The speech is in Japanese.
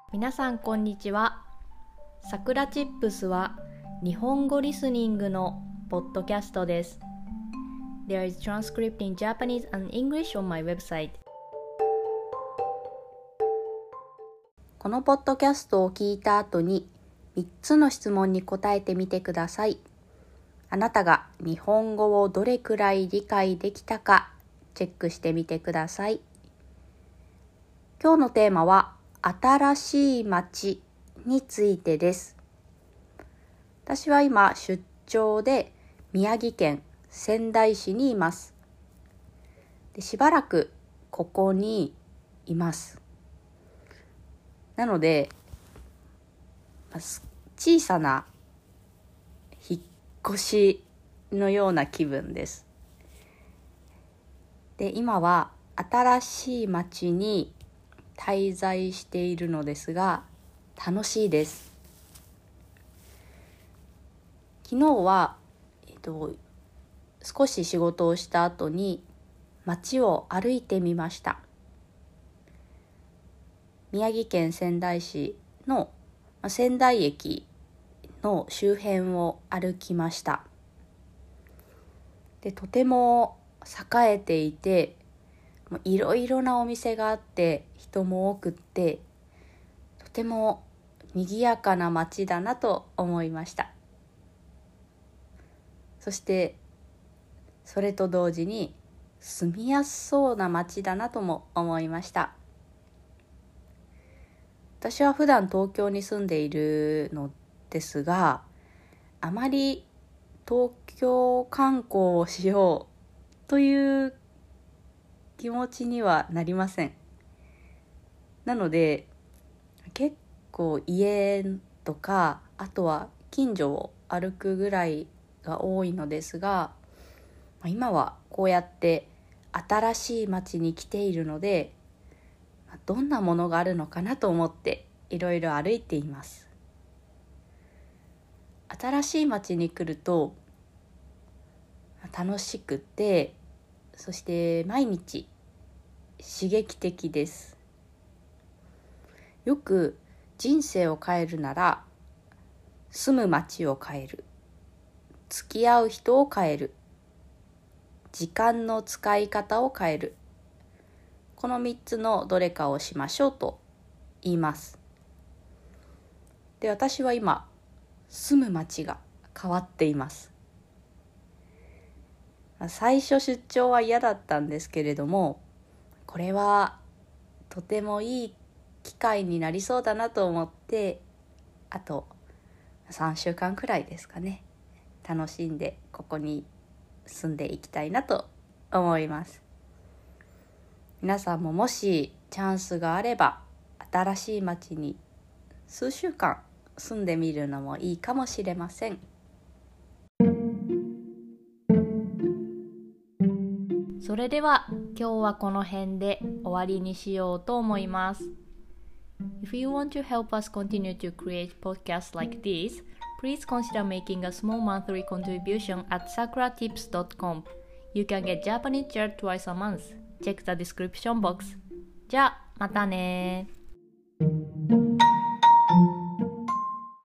皆さんこんにちは。さくらチップスは日本語リスニングのポッドキャストです。There is transcript in Japanese and English on my website. このポッドキャストを聞いた後に3つの質問に答えてみてください。あなたが日本語をどれくらい理解できたかチェックしてみてください。今日のテーマは新しい街についてです。私は今出張で宮城県仙台市にいます。でしばらくここにいます。なので小さな引っ越しのような気分です。で今は新しい町に滞在しているのですが楽しいです。昨日は、少し仕事をした後に街を歩いてみました。宮城県仙台市の仙台駅の周辺を歩きました。でとても栄えていていろいろなお店があって人も多くってとても賑やかな街だなと思いました。そしてそれと同時に住みやすそうな街だなとも思いました。私は普段東京に住んでいるのですがあまり東京観光をしようという気持ちにはなりません。なので結構家とかあとは近所を歩くぐらいが多いのですが今はこうやって新しい街に来ているのでどんなものがあるのかなと思っていろいろ歩いています。新しい街に来ると楽しくてそして毎日刺激的です。よく人生を変えるなら住む街を変える、付き合う人を変える、時間の使い方を変える、この3つのどれかをしましょうと言います。で私は今住む街が変わっています。最初出張は嫌だったんですけれどもこれはとてもいい機会になりそうだなと思ってあと3週間くらいですかね楽しんでここに住んでいきたいなと思います。皆さんももしチャンスがあれば新しい街に数週間住んでみるのもいいかもしれません。それでは今日はこの辺で終わりにしようと思います。If you want to help us continue to create podcasts like this, please consider making a small monthly contribution at sakuratips.com. You can get Japanese chat twice a month. Check the description box. じゃあまたね。